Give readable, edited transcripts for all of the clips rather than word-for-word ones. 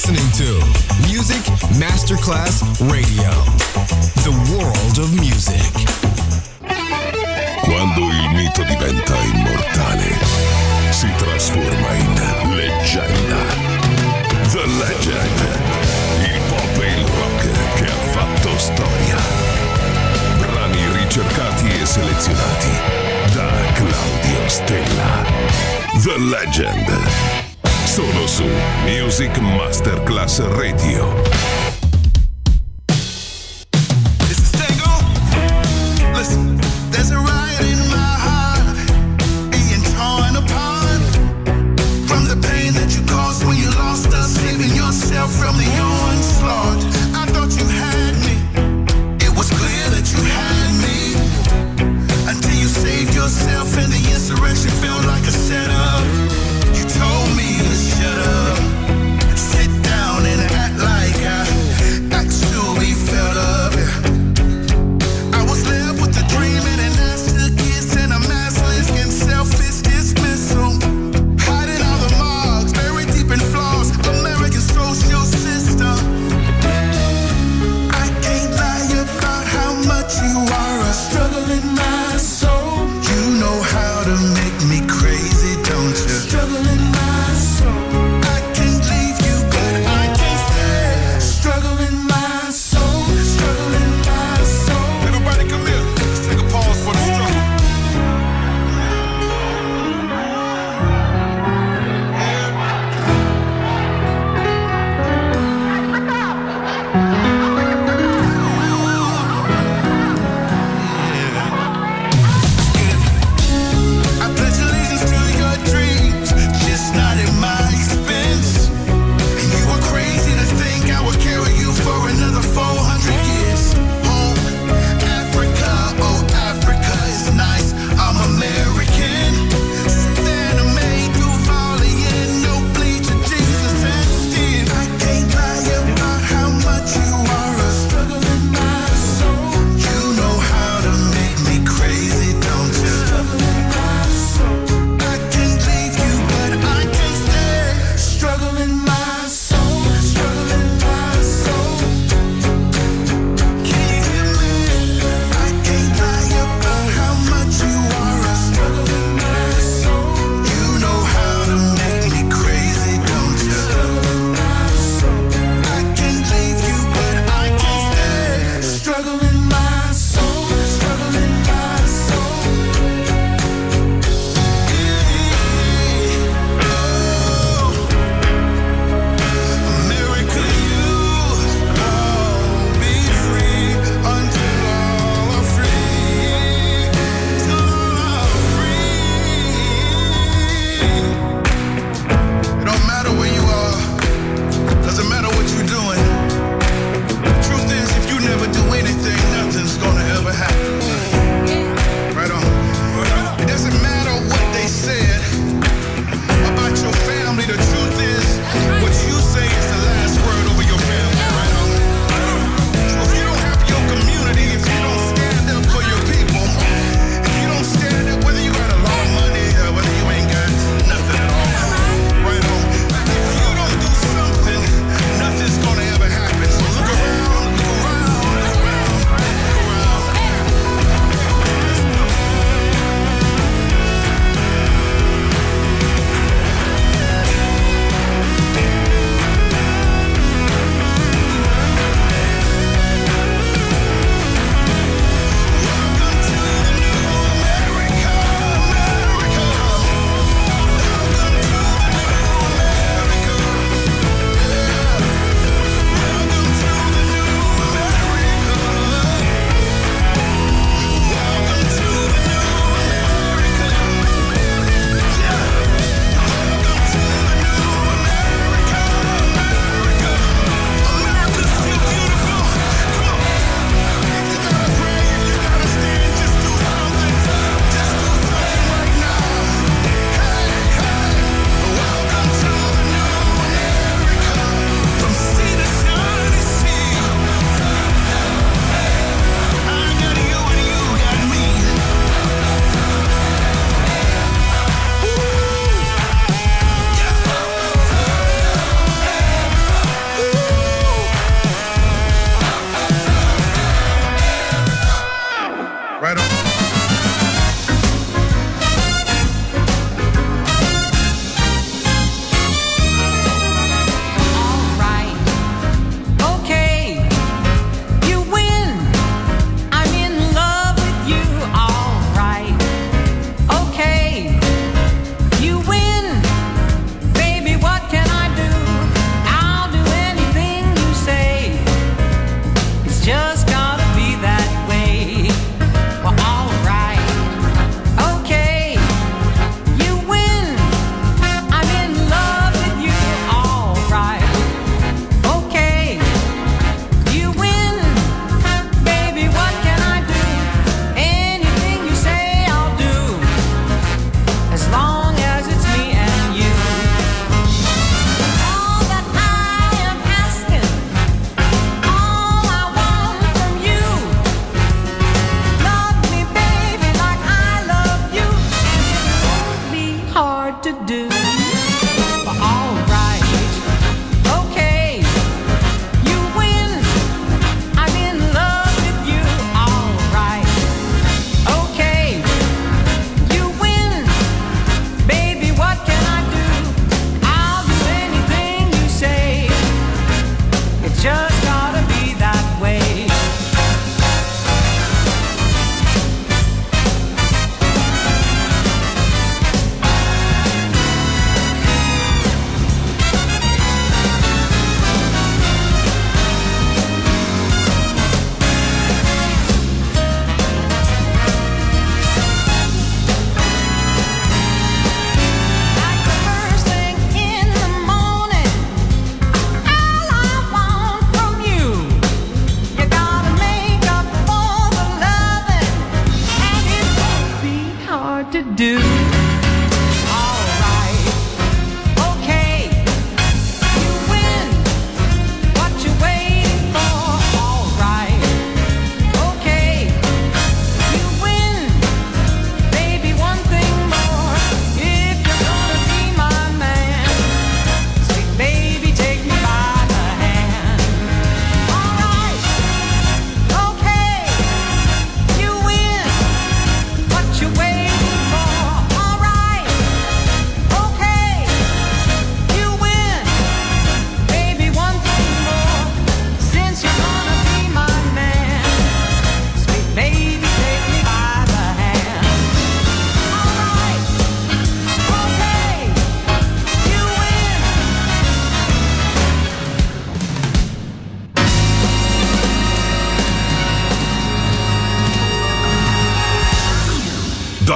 listening to Music Masterclass Radio. The world of music. Quando il mito diventa immortale, si trasforma in leggenda. The Legend. Il pop e il rock che ha fatto storia. Brani ricercati e selezionati da Claudio Stella. The Legend. Solo su Music Masterclass Radio. From the onslaught, I thought you had me. It was clear that you had me until you saved yourself, and the insurrection felt like a setup. You told me to shut up, sit down and act like I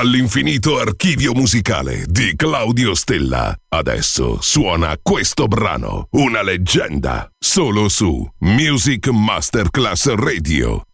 all'infinito archivio musicale di Claudio Stella. Adesso suona questo brano, una leggenda, solo su Music Masterclass Radio.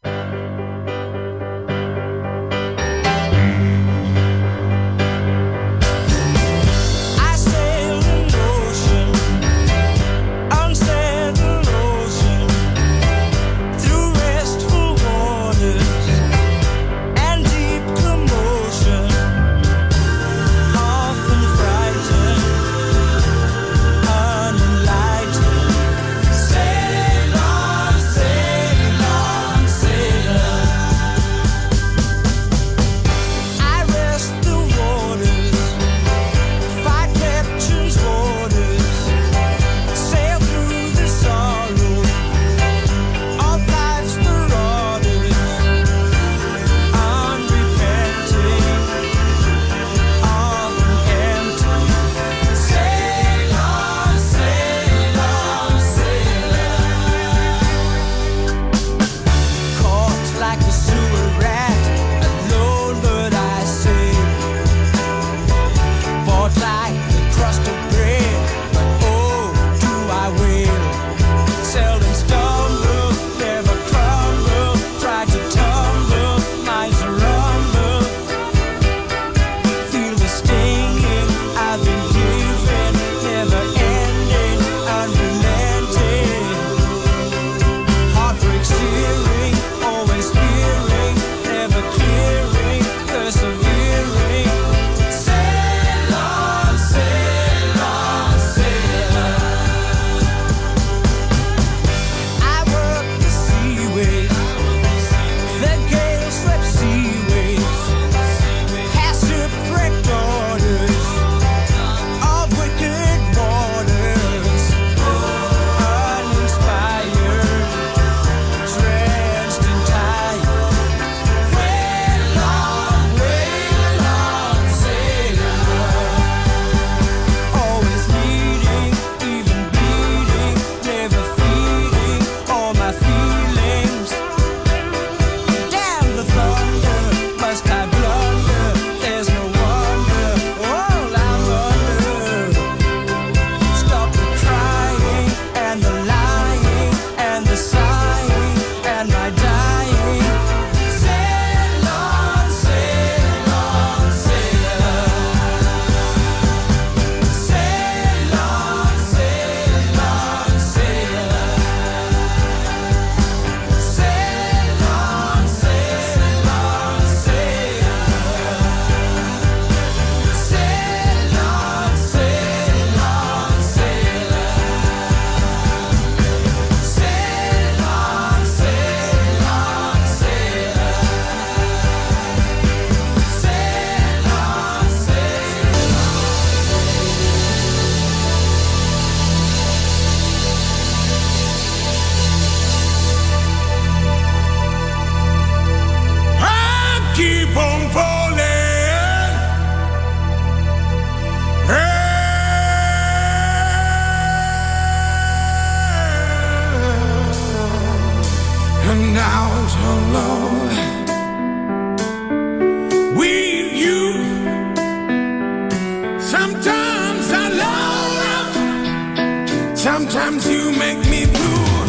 Sometimes you make me blue.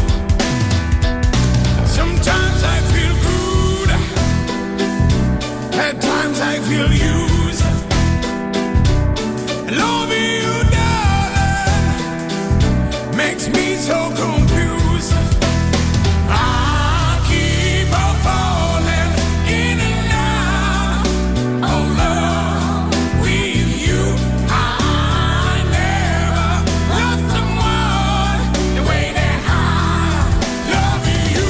Sometimes I feel good. At times I feel used. Loving you, darling, makes me so confused. I keep on falling in and out of love with you. I never lost someone the way that I love you.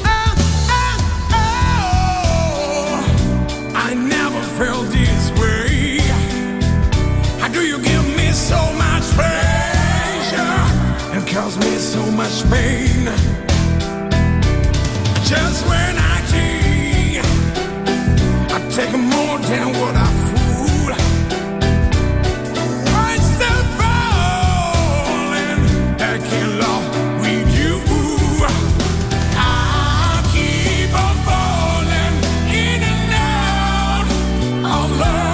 I never felt this way. How do you give me so much pleasure and cause me so much pain? Just when I take more than what I fool. I'm still falling back in love with you. I keep on falling in and out of love.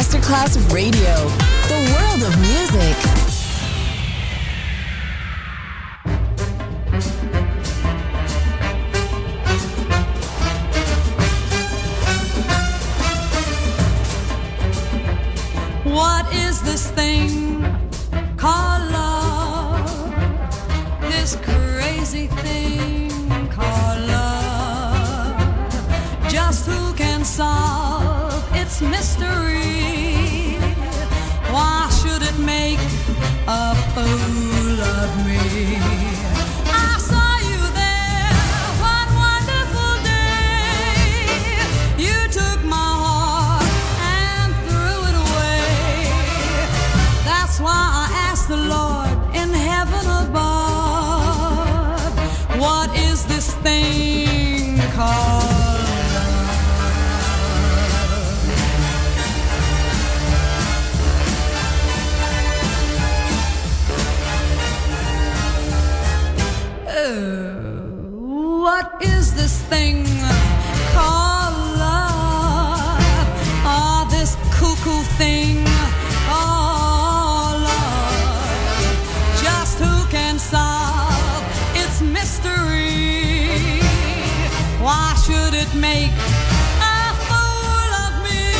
Masterclass Radio, the world of music. What is this thing called love? This crazy thing called love. Just who can solve its mystery? Why should it make a fool of me? I saw you there one wonderful day. You took my heart and threw it away. That's why I asked the Lord in heaven above, what is this thing called? What is this thing called love? Oh, this cuckoo thing called love. Just who can solve its mystery? Why should it make a fool of me?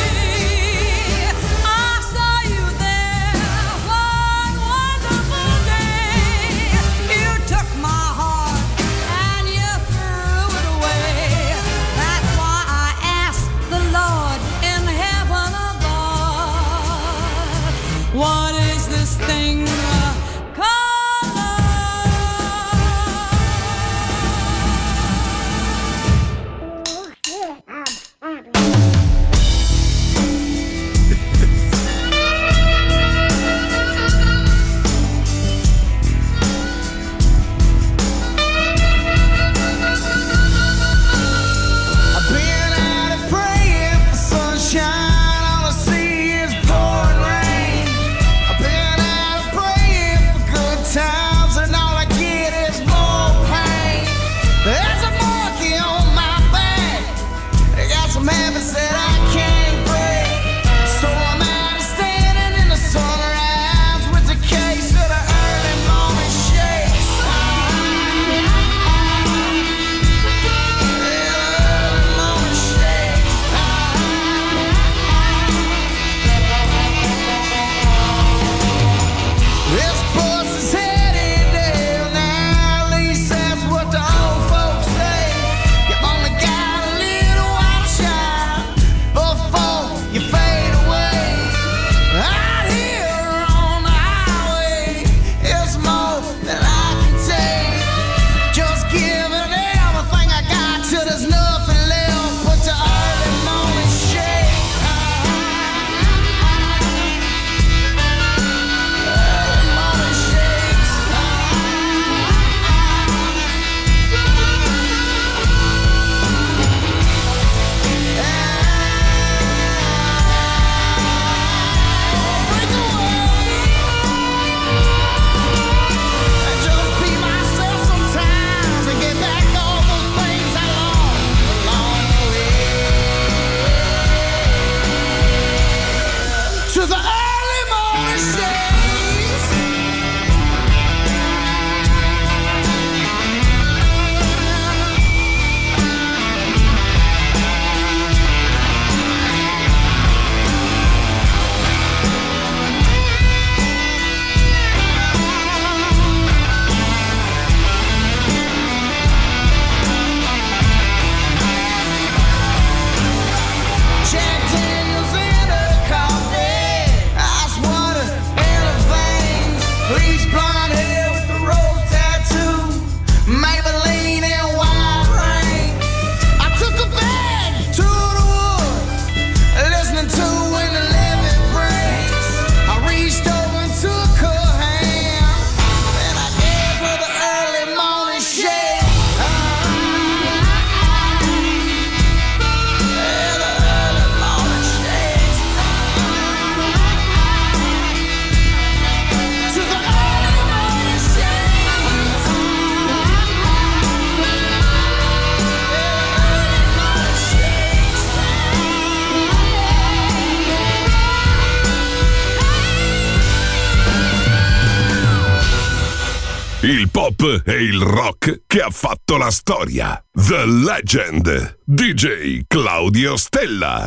I saw you there one wonderful day. You took my heart and you threw it away. That's why I asked the Lord in heaven above, what is this thing called love? rap e il rock che ha fatto la storia. The Legend, DJ Claudio Stella.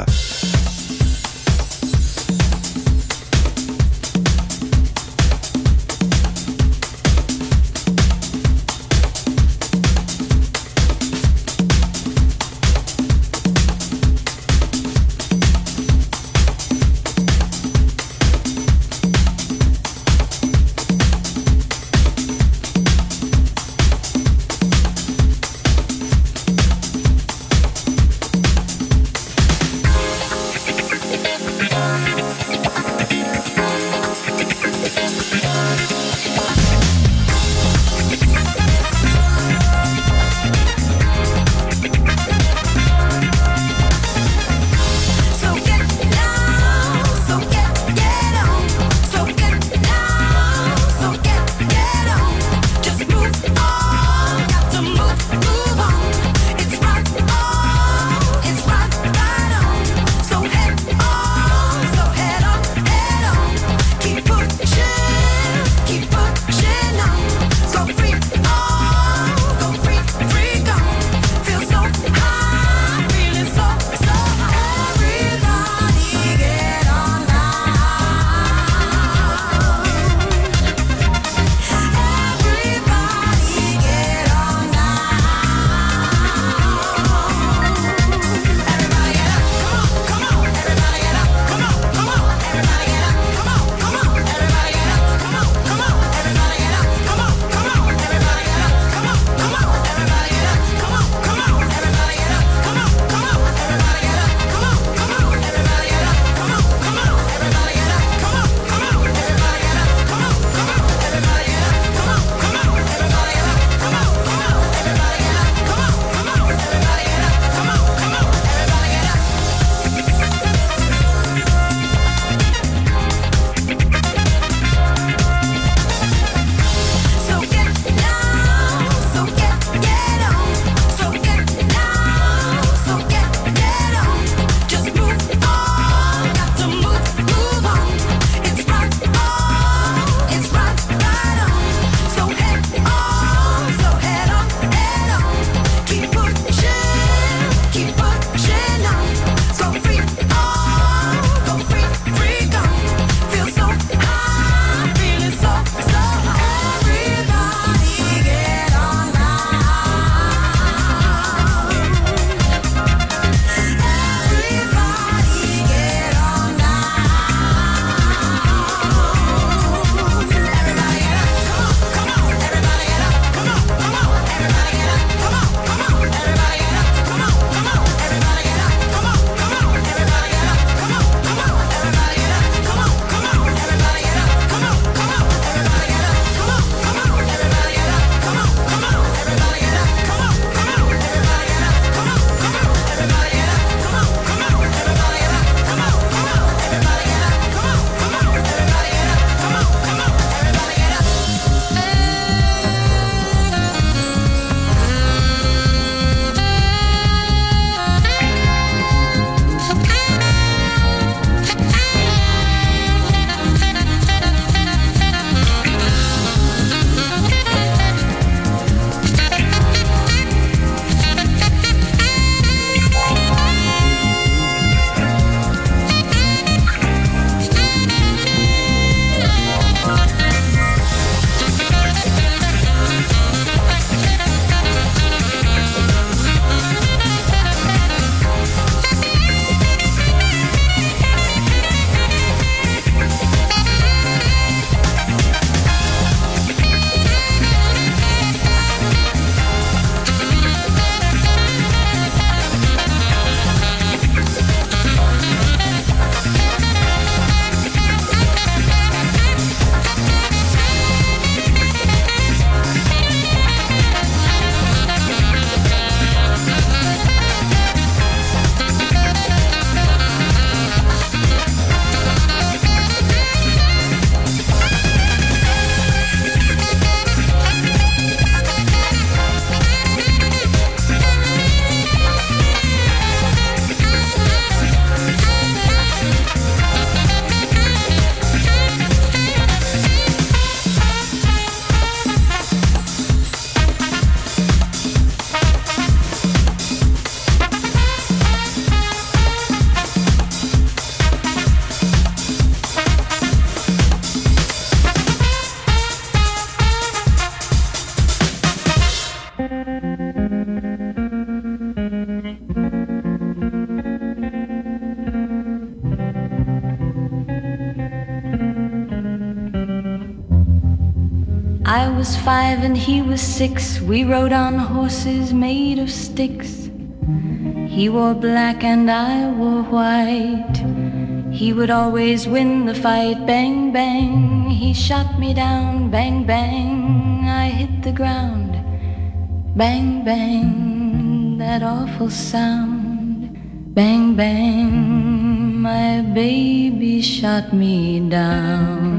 was 5 and he was 6. We rode on horses made of sticks. He wore black and I wore white. He would always win the fight. Bang, bang, he shot me down. Bang, bang, I hit the ground. Bang, bang, that awful sound. Bang, bang, my baby shot me down.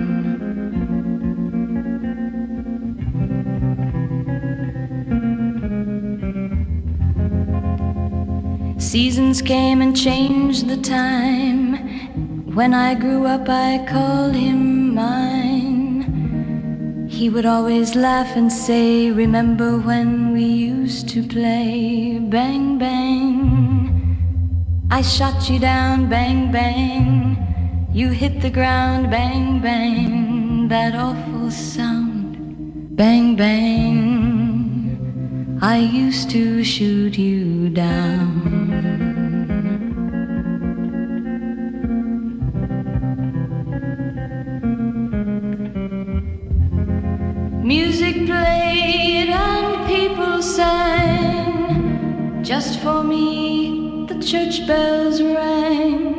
Seasons came and changed the time. When I grew up I called him mine. He would always laugh and say, remember when we used to play? Bang, bang, I shot you down. Bang, bang, you hit the ground. Bang, bang, that awful sound. Bang, bang, I used to shoot you down. Music played and people sang. Just for me the church bells rang.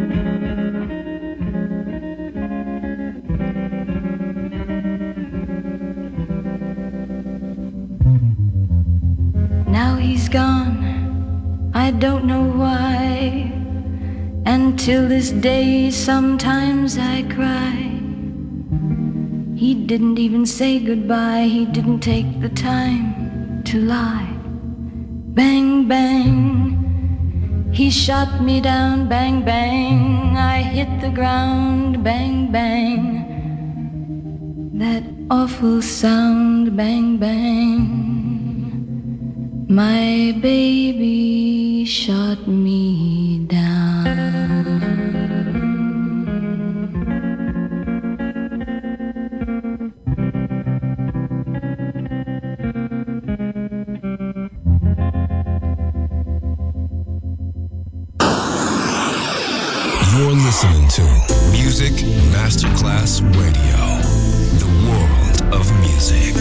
Now he's gone, I don't know why. And till this day sometimes I cry. He didn't even say goodbye. He didn't take the time to lie. Bang, bang, he shot me down. Bang, bang, I hit the ground. Bang, bang, that awful sound. Bang, bang, my baby shot me down. You're listening to Music Masterclass Radio, the world of music.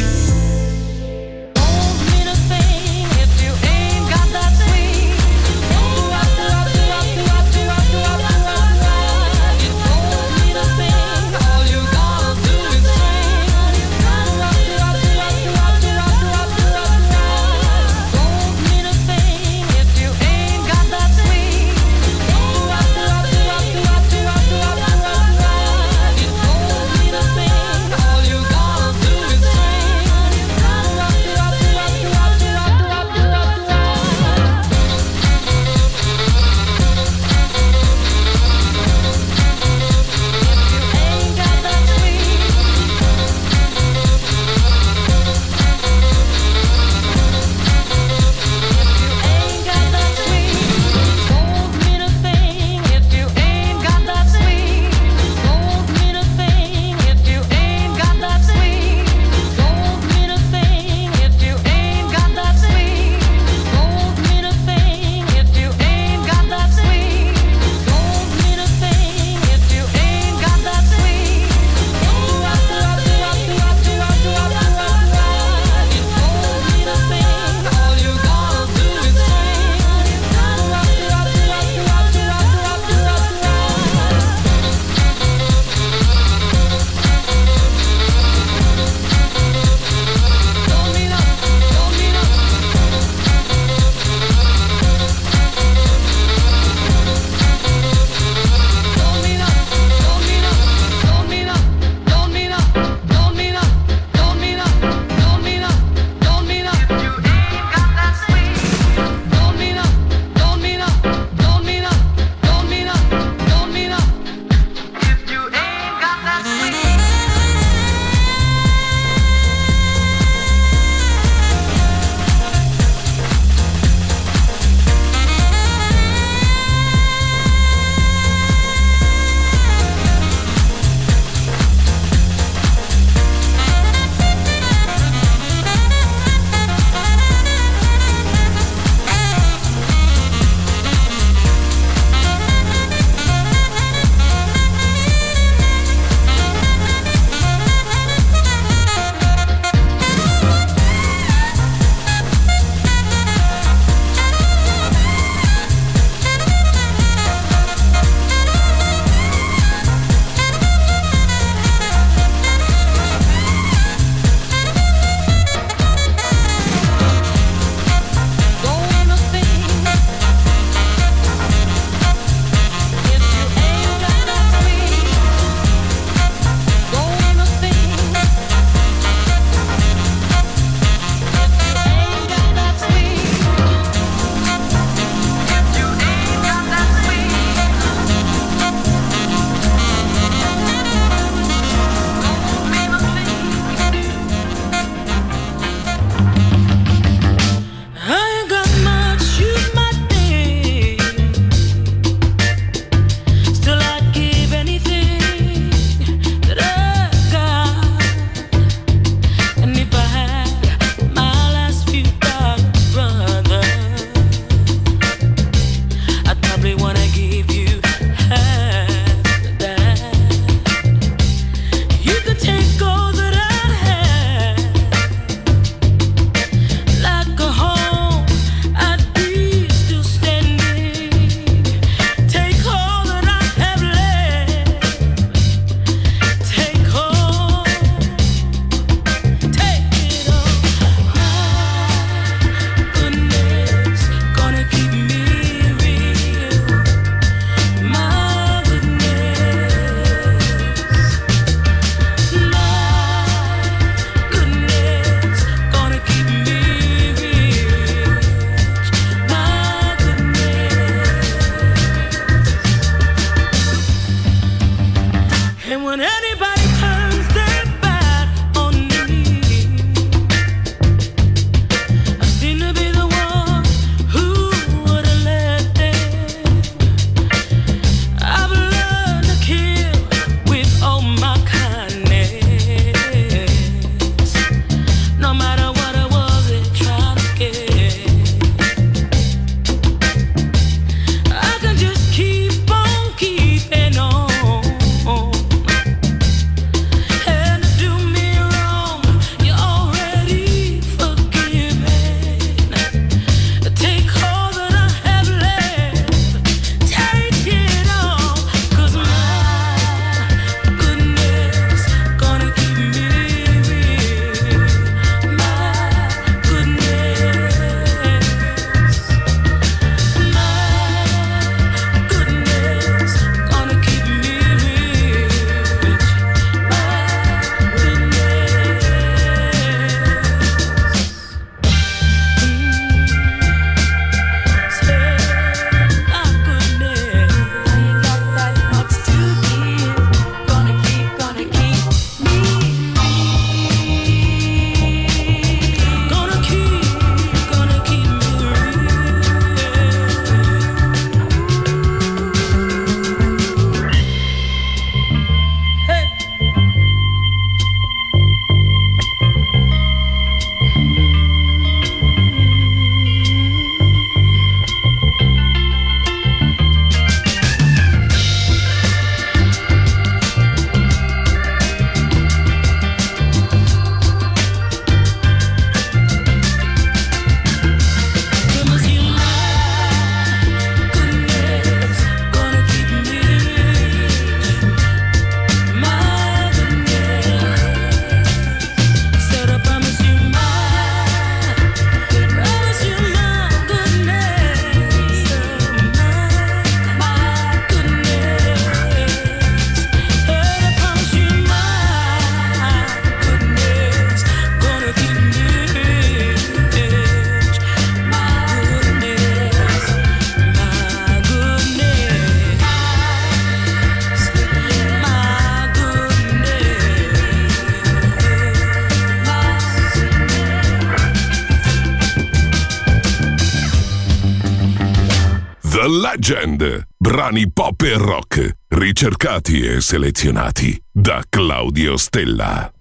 The Legend. Brani pop e rock, ricercati e selezionati da Claudio Stella.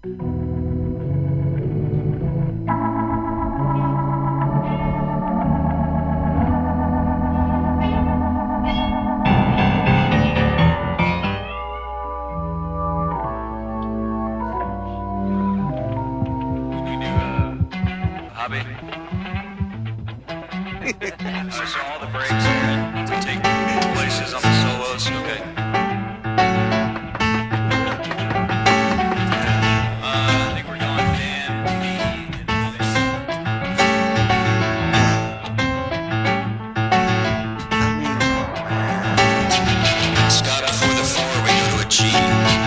I saw all the breaks to take places on the solos. Okay. I think we're going Dan, B, Scott before the 4, we go to a G.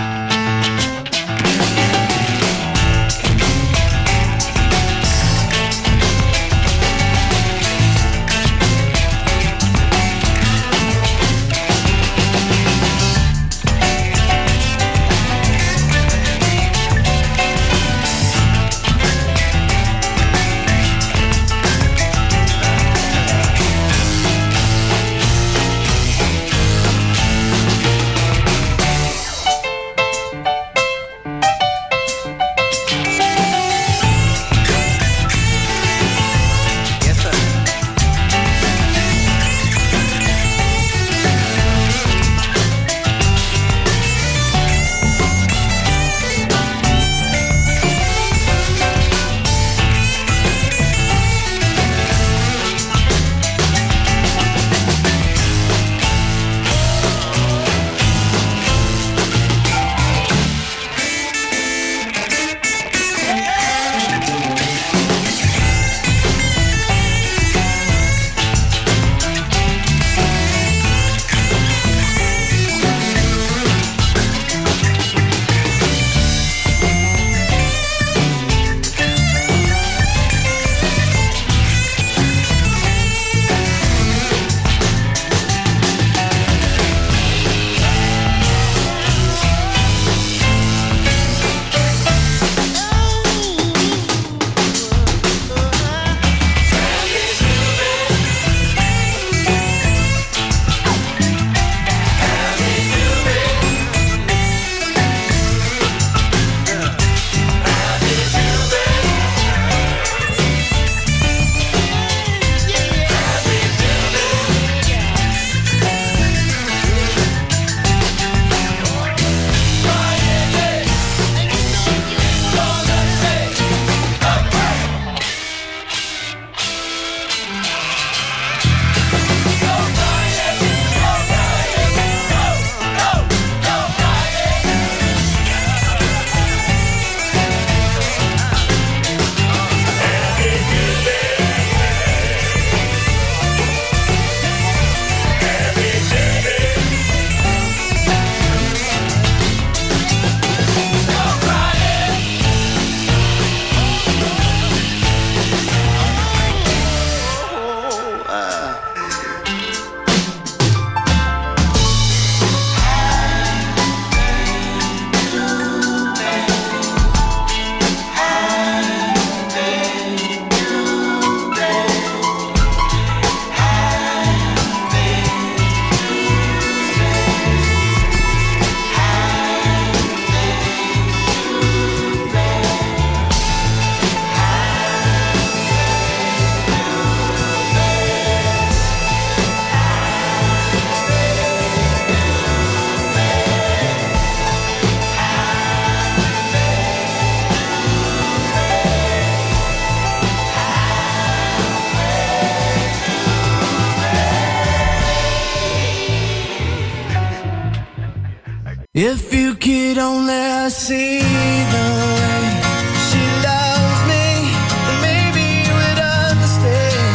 If you could only see the way she loves me, then maybe you would understand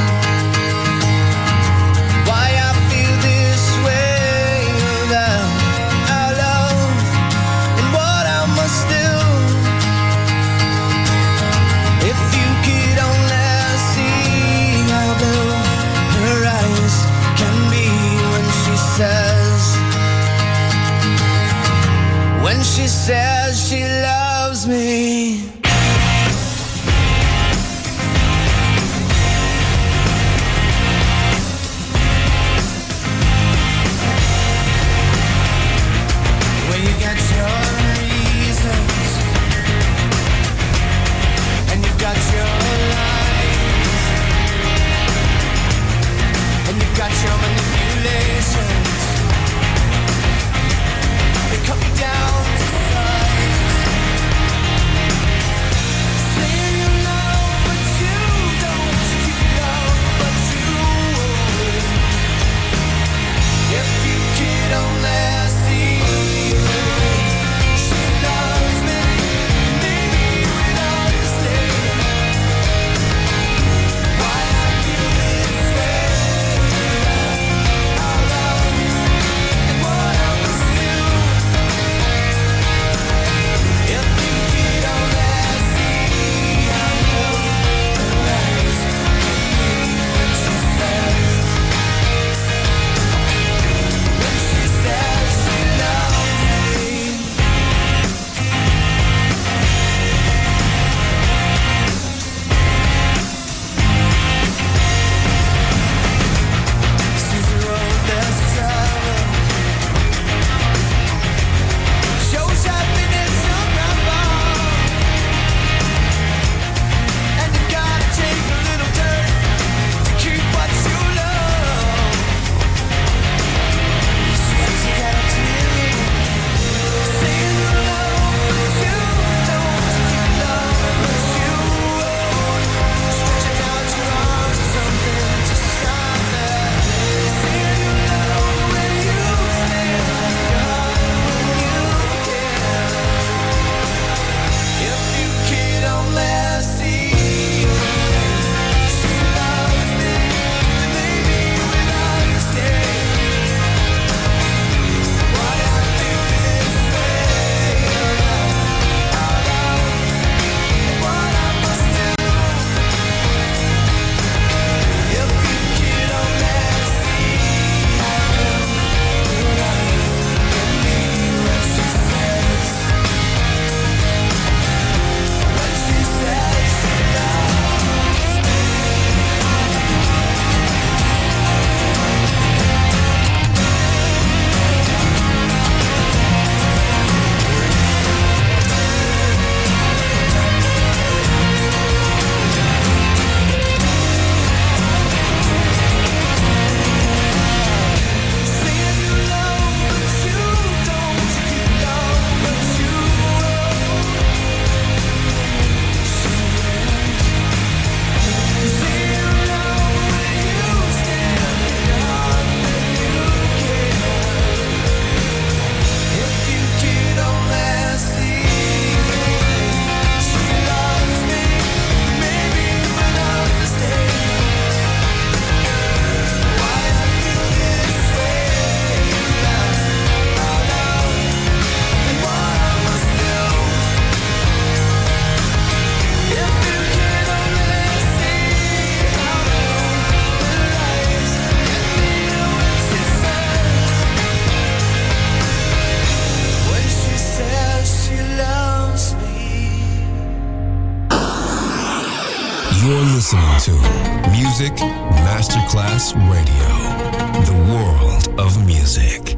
why I feel this way about our love and what I must do. If you could only see how blue her eyes can be when she says she loves me. Music Masterclass Radio. The world of music.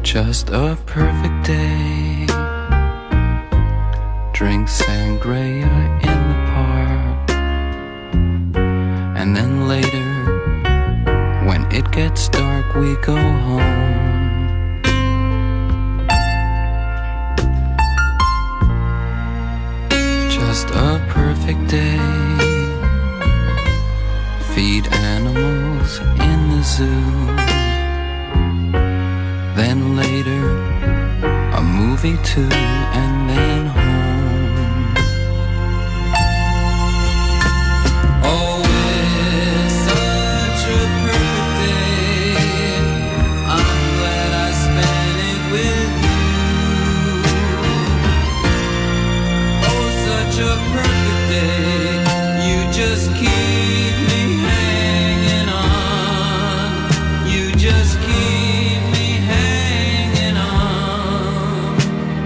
Just a perfect day. Drink sangria in the park. And then later, when it gets dark, we go home. Just a perfect day. Feed animals in the zoo. Then later, a movie too, and then home. Oh, it's such a perfect day. I'm glad I spent it with you. Oh, such a perfect day. You just keep me hanging on. You just keep me hanging on.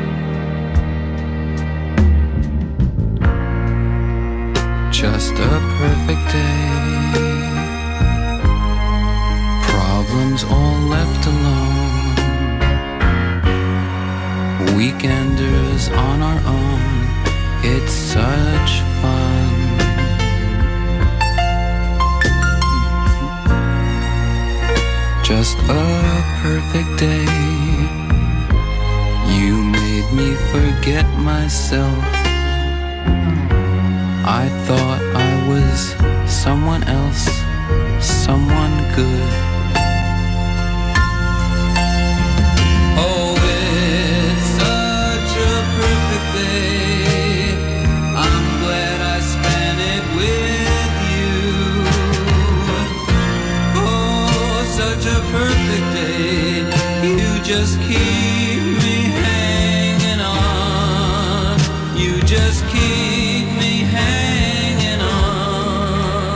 Just a perfect day. Problems all left alone. Weekenders on our own. It's such fun. Just a perfect day. You made me forget myself. I thought I was someone else, someone good. Oh, it's such a perfect day. I'm glad I spent it with you. Oh, such a perfect day. You just keep me hanging on. You just keep me hanging on.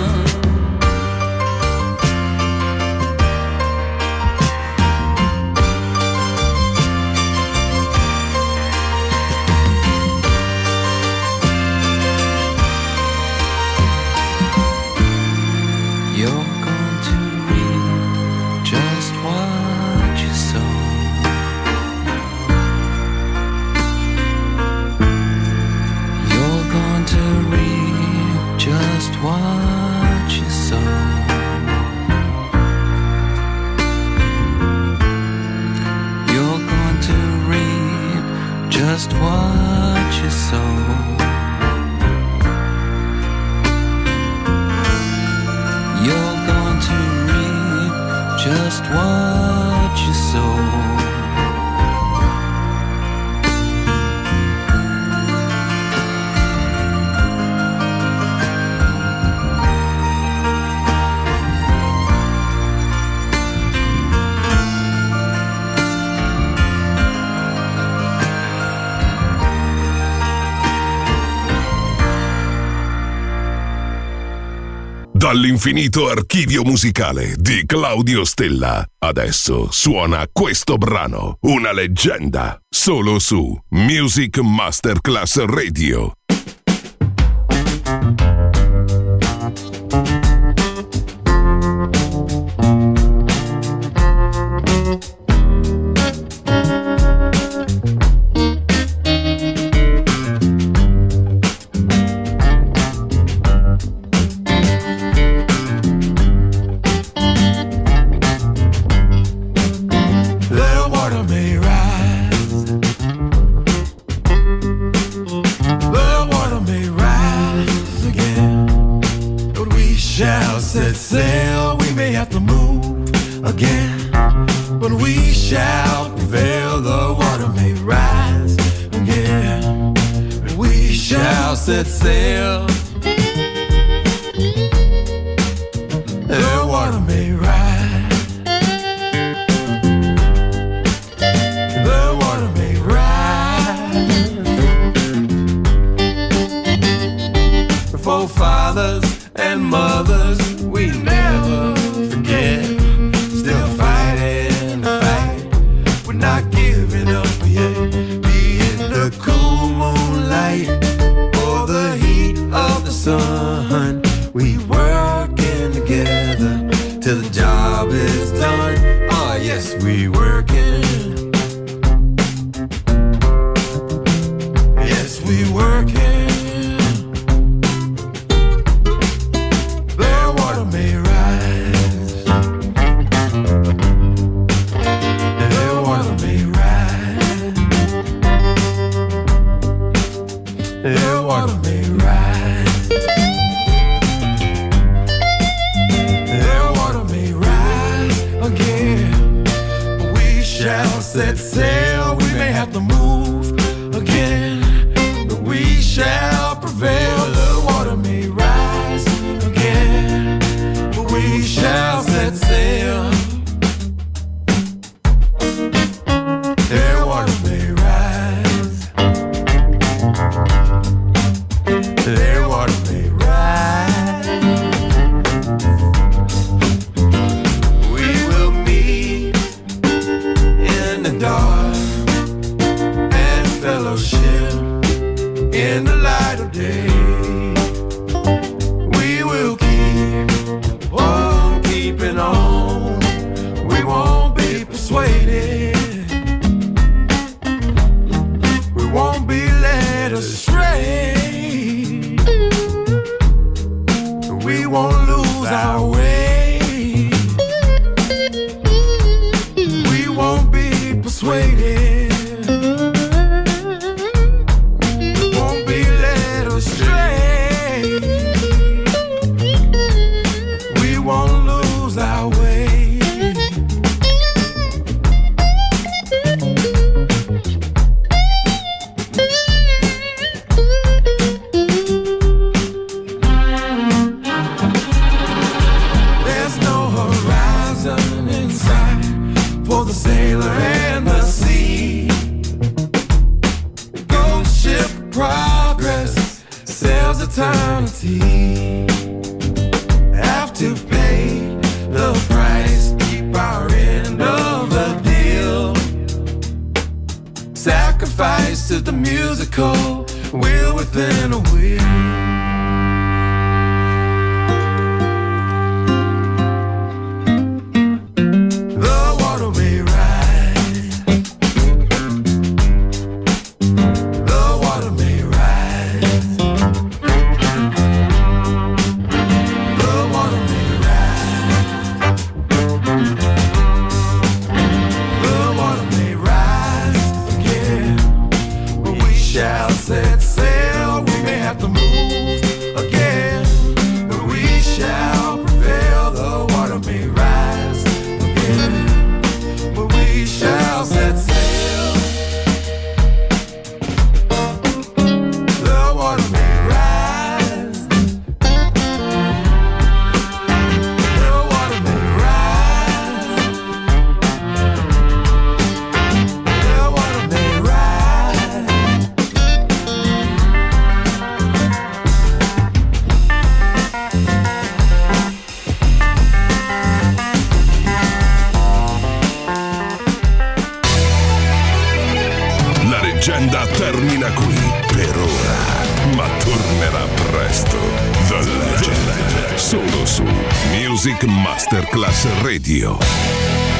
You're going to reap just what you sow. You're going to reap just what you sow. You're going to reap just what you sow. You're going to reap just what you sow. Dall'infinito archivio musicale di Claudio Stella. Adesso suona questo brano, una leggenda, solo su Music Masterclass Radio. The water may rise. The water may rise again. But we shall set sail. We may have to move again. But we shall prevail. The water may rise again. We shall set sail. The water may rise. The water may rise. The forefathers and mothers we never forget. Still fighting the fight. We're not giving up yet. Be in the cool moonlight or the heat of shall set sail. We may have to move again, but we shall prevail. The water may rise again, but we shall set sail. The water may rise, the water may rise. We will meet in the dark and fellowship in the light of day. We will keep on keeping on. We won't be persuaded. We won't be led astray. We won't lose our way. We won't be persuaded. We won't be led astray. We won't lose our way. There's no horizon in sight for the sailor and the sea. Ghost ship progress sails eternity. Have to pay the price, keep our end of the deal. Sacrifice to the musical wheel within a wheel. The water may rise. The water may rise. The water may rise. The water may rise again. But we shall set sail. We may have to move again, but we shall prevail. The water may rise again, but we shall set sail. The water may rise. The water may rise. The water may rise. La leggenda termina qui per ora, ma tornerà presto. The Legend, solo su Music Masterclass Radio.